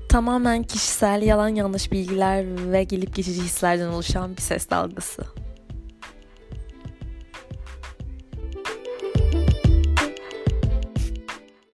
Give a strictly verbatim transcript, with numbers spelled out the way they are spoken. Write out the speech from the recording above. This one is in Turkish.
Tamamen kişisel, yalan yanlış bilgiler ve gelip geçici hislerden oluşan bir ses dalgası.